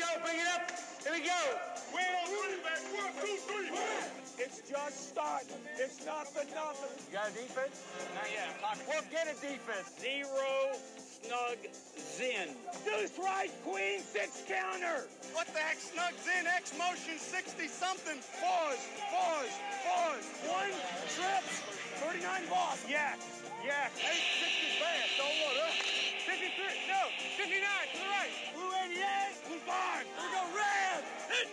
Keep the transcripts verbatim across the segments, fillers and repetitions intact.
go, bring it up. Here we go. We're on running back. One, two, three. It's just starting. It's nothing, nothing. You got a defense? Not yet. I'm talking. Well, get a defense. Zero snug zen. Deuce right, queen, six counter. What the heck? Snug zen, X motion, sixty something. Fours, fours, fours. One, trips, thirty-nine boss. Yeah, yeah. Eight, six is bad. Don't want it. fifty-three, no, fifty-nine to the right. Blue eighty-eight, blue five. Here we go, red. Hit.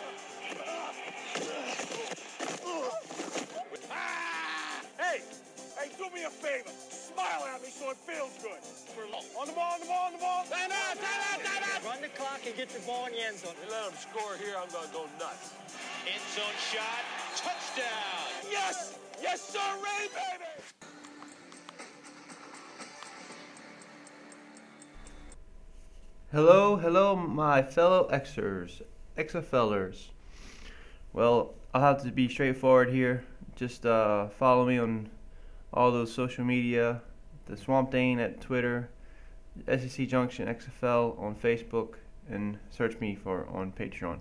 Ah! Hey, hey, do me a favor. Smile at me so it feels good. On the ball, on the ball, on the ball. Time out, time out, time out. Run the clock and get the ball in the end zone. You let them score here, I'm going to go nuts. End zone shot. Touchdown. Yes, yes, sir, Ray, baby. Hello, hello, my fellow Xers, XFLers. Well, I'll have to be straightforward here. Just uh, follow me on all those social media, the Swamp Dane at Twitter, S E C Junction X F L on Facebook, and search me for on Patreon.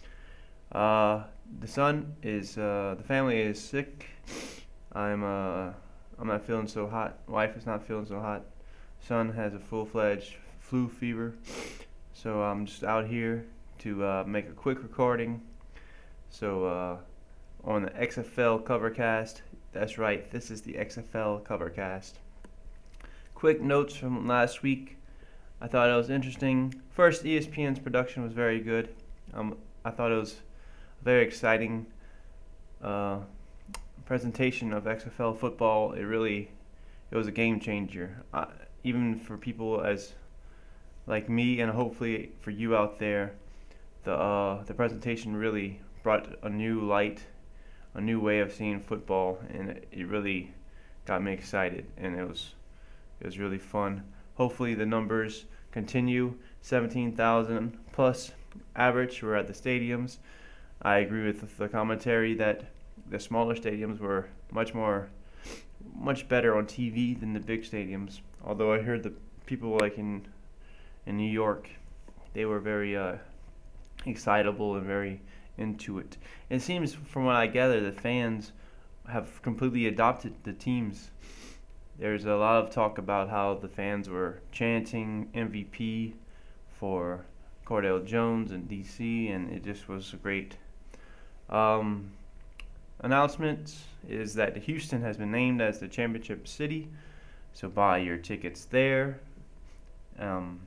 Uh, the son is, uh, the family is sick. I'm, uh, I'm not feeling so hot. Wife is not feeling so hot. Son has a full-fledged flu fever. So I'm just out here to uh, make a quick recording. So uh, on the X F L Covercast, that's right, this is the X F L Covercast. Quick notes from last week. I thought it was interesting. First, E S P N's production was very good. Um, I thought it was a very exciting uh, presentation of X F L football. It really, it was a game changer. Uh, even for people as like me, and hopefully for you out there, the uh, the presentation really brought a new light, a new way of seeing football, and it, it really got me excited, and it was it was really fun. Hopefully the numbers continue. seventeen thousand plus average were at the stadiums. I agree with the commentary that the smaller stadiums were much more, much better on T V than the big stadiums. Although I heard the people like in in New York, they were very uh, excitable and very into it. It seems, from what I gather, the fans have completely adopted the teams. There's a lot of talk about how the fans were chanting M V P for Cordell Jones and D C, and it just was great. Um, announcement is that Houston has been named as the championship city, so buy your tickets there. Um,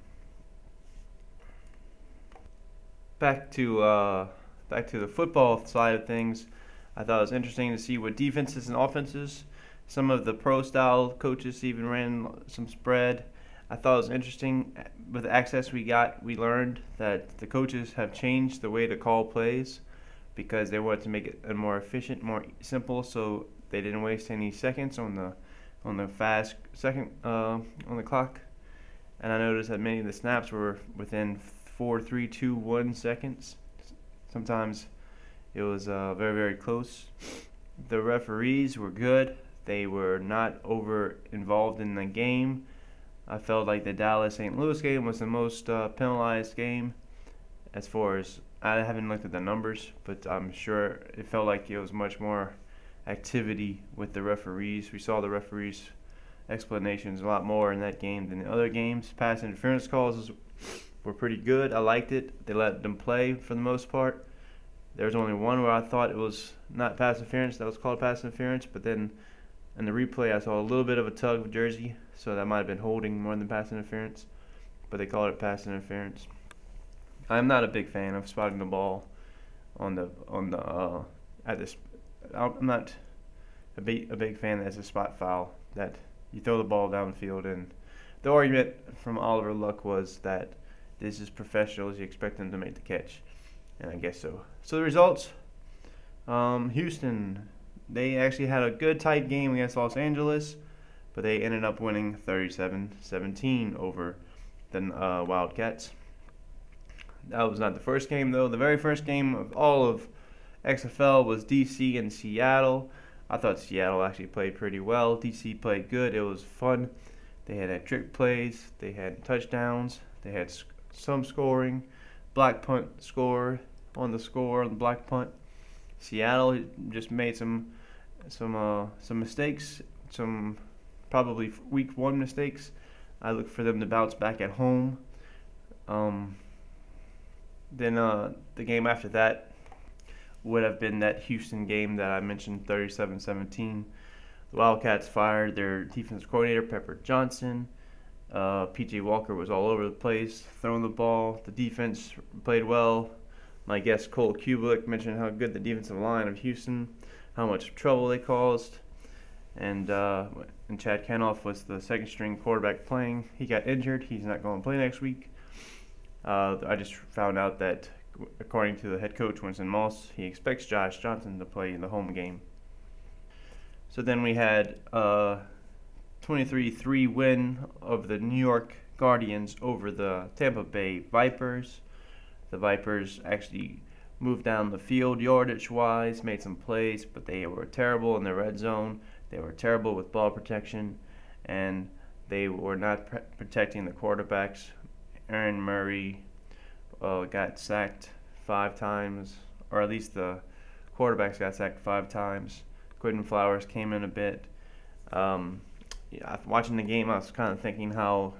back to uh, back to the football side of things. I thought it was interesting to see what defenses and offenses. Some of the pro-style coaches even ran some spread. I thought it was interesting. With the access we got, we learned that the coaches have changed the way to call plays because they wanted to make it more efficient, more simple, so they didn't waste any seconds on the on the fast second uh, on the clock. And I noticed that many of the snaps were within four, three, two, one seconds. Sometimes it was uh, very, very close. The referees were good. They were not over involved in the game. I felt like the Dallas Saint Louis game was the most uh, penalized game. As far as, I haven't looked at the numbers, but I'm sure it felt like it was much more activity with the referees. We saw the referees' explanations a lot more in that game than the other games. Pass interference calls were pretty good. I liked it. They let them play for the most part. There was only one where I thought it was not pass interference, that was called pass interference, but then in the replay I saw a little bit of a tug of jersey, so that might have been holding more than pass interference, but they called it pass interference. I'm not a big fan of spotting the ball on the on the uh, at this. I'm not a big a big fan as a spot foul that you throw the ball downfield, and the argument from Oliver Luck was that this is professionals, you expect them to make the catch, and I guess so. So the results, um, Houston, they actually had a good tight game against Los Angeles, but they ended up winning thirty-seven seventeen over the uh, Wildcats. That was not the first game, though. The very first game of all of X F L was D C and Seattle. I thought Seattle actually played pretty well. D C played good. It was fun. They had, had trick plays. They had touchdowns. They had sc- some scoring. black punt score on the score on the black punt. Seattle just made some some uh, some mistakes, some probably week one mistakes. I look for them to bounce back at home. Um, then uh, the game after that would have been that Houston game that I mentioned, thirty-seven seventeen. The Wildcats fired their defensive coordinator, Pepper Johnson. Uh, P J Walker was all over the place, throwing the ball. The defense played well. My guest Cole Kublik mentioned how good the defensive line of Houston, how much trouble they caused. And uh, and Chad Kenoff was the second string quarterback playing. He got injured. He's not going to play next week. Uh, I just found out that, according to the head coach, Winston Moss, he expects Josh Johnson to play in the home game. So then we had a twenty-three three win of the New York Guardians over the Tampa Bay Vipers. The Vipers actually moved down the field yardage-wise, made some plays, but they were terrible in the red zone. They were terrible with ball protection, and they were not pre- protecting the quarterbacks. Aaron Murray uh, got sacked five times, or at least the quarterbacks got sacked five times. Quentin Flowers came in a bit. Um, yeah, watching the game, I was kind of thinking how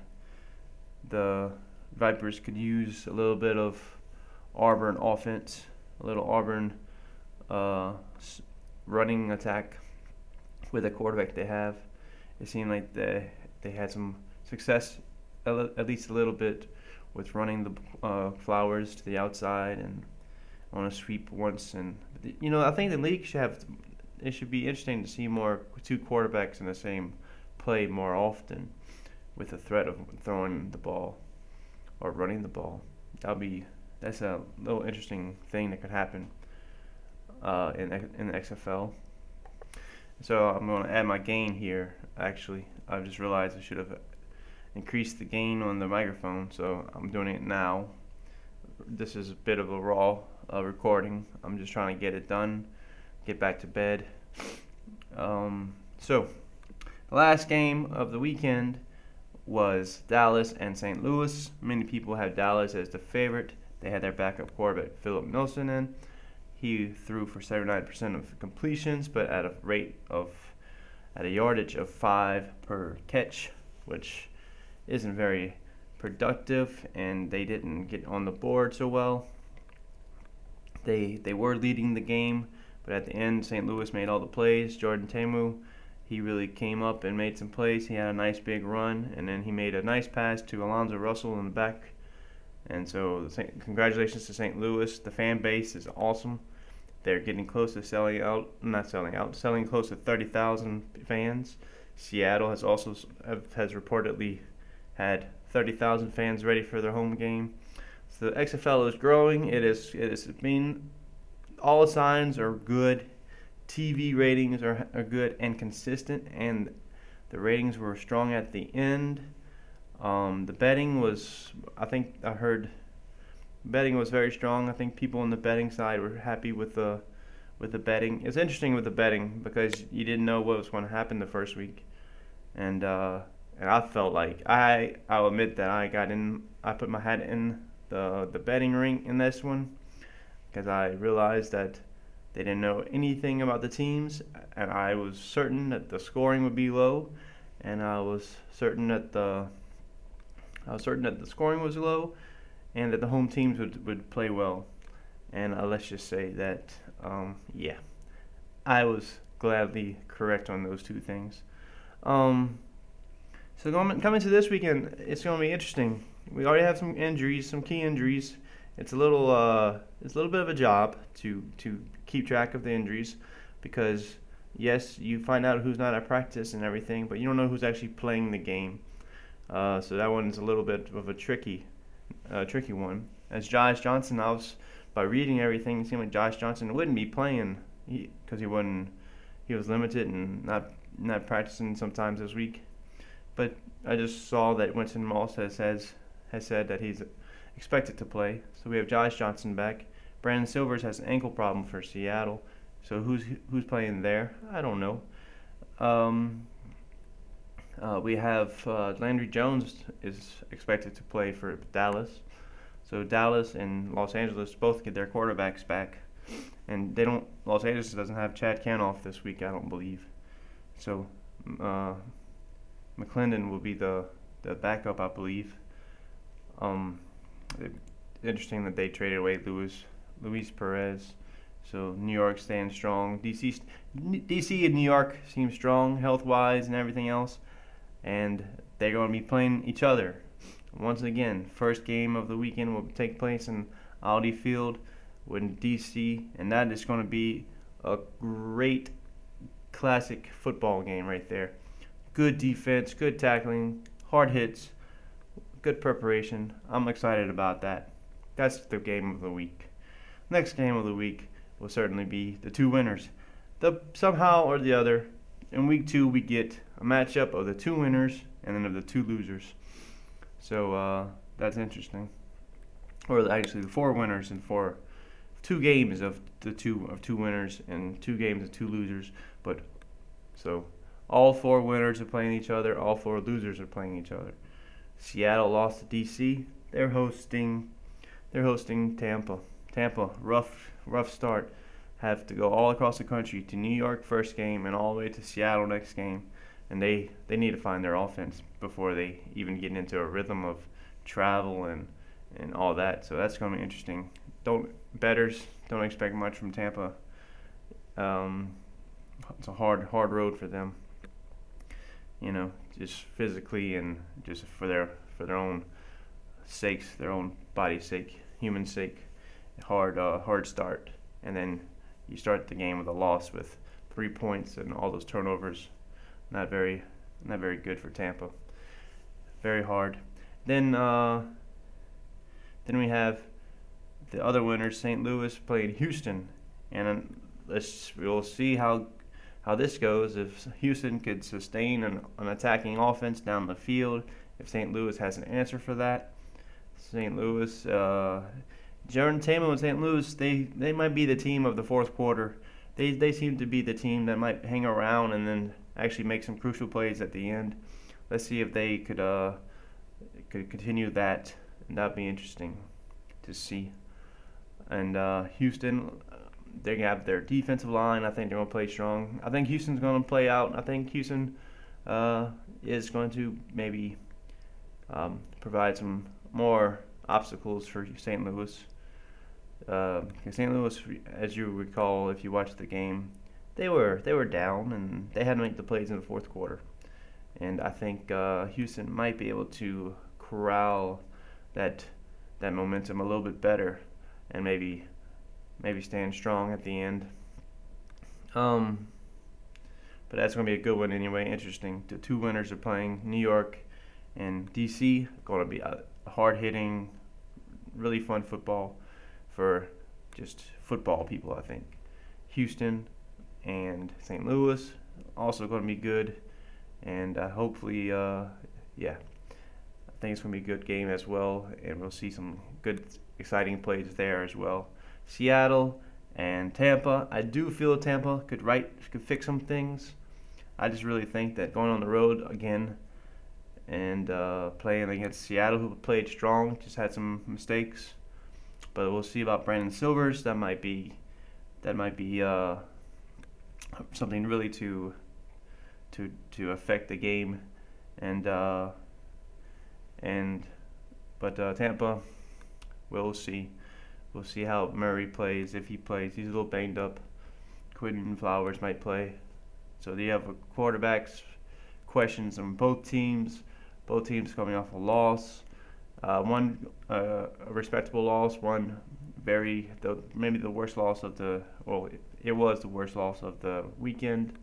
the Vipers could use a little bit of Auburn offense, a little Auburn uh, running attack with the quarterback they have. It seemed like they they had some success, at least a little bit, with running the uh, Flowers to the outside and on a sweep once. And you know, I think the league should have. It should be interesting to see more two quarterbacks in the same play more often, with the threat of throwing the ball or running the ball. That'll be that's a little interesting thing that could happen uh, in in the X F L. So I'm going to add my gain here. Actually, I just realized I should have increased the gain on the microphone, so I'm doing it now. This is a bit of a raw uh, recording. I'm just trying to get it done, get back to bed. Um, so, the last game of the weekend was Dallas and Saint Louis. Many people have Dallas as the favorite. They had their backup quarterback, Philip Nelson, in. He threw for seventy-nine percent of completions, but at a rate of, at a yardage of five per catch, which isn't very productive, and they didn't get on the board so well. They they were leading the game, but at the end, Saint Louis made all the plays. Jordan Ta'amu, he really came up and made some plays. He had a nice big run, and then he made a nice pass to Alonzo Russell in the back. And so, congratulations to Saint Louis. The fan base is awesome. They're getting close to selling out, not selling out, selling close to thirty thousand fans. Seattle has also has reportedly had thirty thousand fans ready for their home game. So the X F L is growing. It is it is being, all signs are good. T V ratings are are good and consistent, and the ratings were strong at the end. Um, the betting was, I think I heard, betting was very strong. I think people on the betting side were happy with the with the betting. It's interesting with the betting because you didn't know what was going to happen the first week, and uh, and I felt like I I'll admit that I got in. I put my hat in the the betting ring in this one because I realized that they didn't know anything about the teams, and I was certain that the scoring would be low, and I was certain that the I was certain that the scoring was low, and that the home teams would, would play well. And uh, let's just say that, um, yeah, I was gladly correct on those two things. Um, so going, coming to this weekend, it's going to be interesting. We already have some injuries, some key injuries. It's a little, uh, it's a little bit of a job to to keep track of the injuries, because yes, you find out who's not at practice and everything, but you don't know who's actually playing the game. Uh, so that one's a little bit of a tricky, uh, tricky one. As Josh Johnson, I was by reading everything, it seemed like Josh Johnson wouldn't be playing because he, he wasn't, he was limited and not not practicing sometimes this week. But I just saw that Winston Moss has has, has said that he's expected to play. So we have Josh Johnson back. Brandon Silvers has an ankle problem for Seattle. So who's who's playing there? I don't know. Um, Uh, we have uh, Landry Jones is expected to play for Dallas. So Dallas and Los Angeles both get their quarterbacks back, and they don't. Los Angeles doesn't have Chad Canoff this week, I don't believe. So uh, McClendon will be the the backup, I believe. Um, it, interesting that they traded away Luis Luis Perez. So New York stands strong. D C D C and New York seem strong health-wise and everything else, and they're going to be playing each other. Once again, first game of the weekend will take place in Audi Field with D C, and that is going to be a great classic football game right there. Good defense, good tackling, hard hits, good preparation. I'm excited about that. That's the game of the week. Next game of the week will certainly be the two winners. The somehow or the other, in week two we get a matchup of the two winners and then of the two losers. So uh, that's interesting. Or actually, the four winners and four, two games of the two of two winners and two games of two losers. But so all four winners are playing each other. All four losers are playing each other. Seattle lost to D C. They're hosting. They're hosting Tampa. Tampa, rough, rough start. Have to go all across the country to New York first game and all the way to Seattle next game. And they, they need to find their offense before they even get into a rhythm of travel and, and all that. So that's going to be interesting. Don't bettors don't expect much from Tampa. Um, it's a hard hard road for them. You know, just physically and just for their for their own sakes, their own body's sake, human sake. Hard uh, hard start, and then you start the game with a loss with three points and all those turnovers. Not very, not very good for Tampa. Very hard. Then, uh, then we have the other winners, Saint Louis playing Houston, and let's we'll see how how this goes. If Houston could sustain an, an attacking offense down the field, if Saint Louis has an answer for that, Saint Louis, uh, Jordan Tamo and Saint Louis, they they might be the team of the fourth quarter. They they seem to be the team that might hang around and then actually make some crucial plays at the end. Let's see if they could uh could continue that, and that'd be interesting to see. And uh, Houston, they have their defensive line. I think they're gonna play strong. I think Houston's gonna play out. I think Houston uh, is going to maybe um, provide some more obstacles for Saint Louis. Uh, Saint Louis, as you recall, if you watched the game, they were they were down and they had to make the plays in the fourth quarter. And I think uh, Houston might be able to corral that that momentum a little bit better and maybe maybe stand strong at the end. Um, but that's going to be a good one anyway. Interesting. The two winners are playing, New York and D C. Going to be a hard-hitting, really fun football for just football people, I think. Houston and Saint Louis also going to be good, and uh, hopefully, uh, yeah, I think it's going to be a good game as well, and we'll see some good, exciting plays there as well. Seattle and Tampa, I do feel Tampa could right could fix some things. I just really think that going on the road again and uh, playing against Seattle, who played strong, just had some mistakes. But we'll see about Brandon Silvers. That might be, that might be uh, something really to, to to affect the game, and uh, and but uh, Tampa, we'll see, we'll see how Murray plays, if he plays. He's a little banged up. Quinton Flowers might play. So you have a quarterbacks questions on both teams. Both teams coming off a loss. Uh, one uh, a respectable loss, one very the maybe the worst loss of the well it, it was the worst loss of the weekend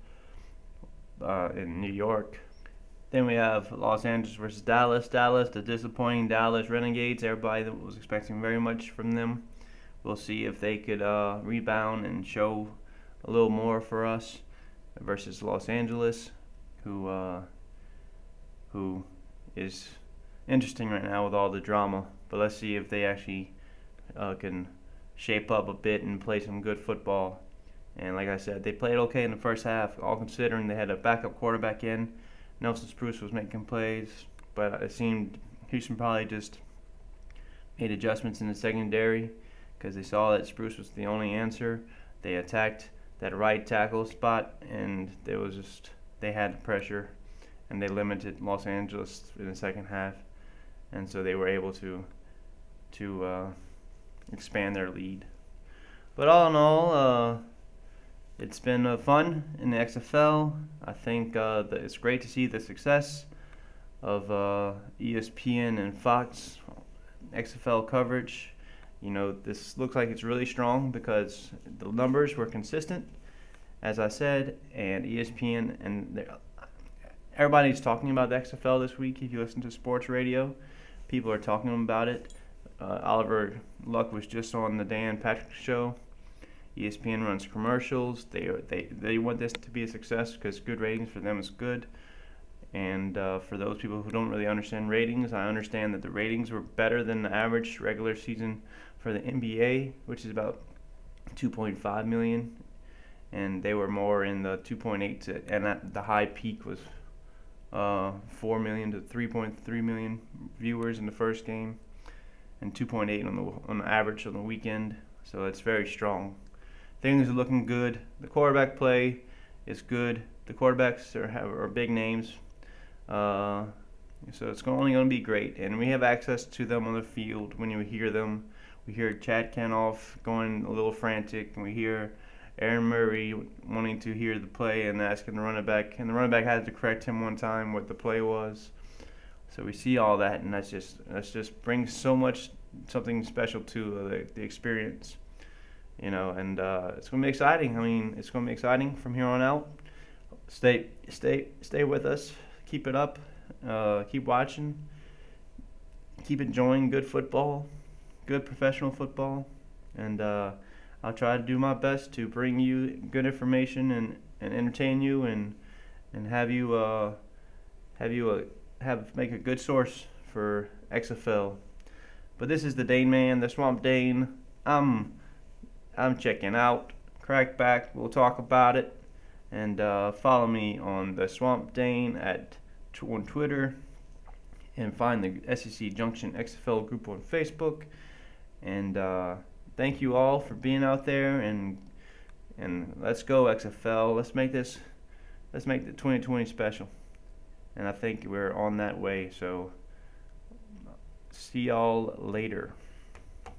uh, in New York. Then we have Los Angeles versus Dallas. Dallas, the disappointing Dallas Renegades. Everybody was expecting very much from them. We'll see if they could uh, rebound and show a little more for us versus Los Angeles, who uh, who is interesting right now with all the drama, but let's see if they actually uh, can shape up a bit and play some good football. And like I said, they played okay in the first half, all considering they had a backup quarterback in. Nelson Spruce was making plays, but it seemed Houston probably just made adjustments in the secondary because they saw that Spruce was the only answer. They attacked that right tackle spot, and there was just they had pressure, and they limited Los Angeles in the second half, and so they were able to to uh, expand their lead. But all in all, uh, it's been uh, fun in the X F L. I think uh, that it's great to see the success of uh, E S P N and Fox X F L coverage. You know, this looks like it's really strong because the numbers were consistent, as I said, and E S P N and everybody's talking about the X F L this week. If you listen to sports radio, people are talking about it. Uh, Oliver Luck was just on the Dan Patrick Show. E S P N runs commercials. They they they want this to be a success because good ratings for them is good. And uh, for those people who don't really understand ratings, I understand that the ratings were better than the average regular season for the N B A, which is about two point five million, and they were more in the two point eight to, and at the high peak was uh, four million to three point three million viewers in the first game, and two point eight on the on the average on the weekend. So it's very strong. Things are looking good. The quarterback play is good. The quarterbacks are have, are big names. Uh, so it's only going to be great, and we have access to them on the field. When you hear them, we hear Chad Kanoff going a little frantic, and we hear Aaron Murray wanting to hear the play and asking the running back, and the running back had to correct him one time what the play was. So we see all that, and that's just that's just brings so much something special to uh, the, the experience, you know. And uh, it's going to be exciting. I mean, it's going to be exciting from here on out. Stay, stay, stay with us. Keep it up. Uh, keep watching. Keep enjoying good football, good professional football, and uh, I'll try to do my best to bring you good information and, and entertain you and and have you uh, have you uh, have make a good source for X F L. But this is the Dane Man, the Swamp Dane. I'm I'm checking out. Crack back. We'll talk about it. And uh, follow me on the Swamp Dane at on Twitter, and find the S E C Junction X F L group on Facebook. And uh, thank you all for being out there, and and let's go X F L. Let's make this, let's make the twenty twenty special. And I think we're on that way. So see y'all later.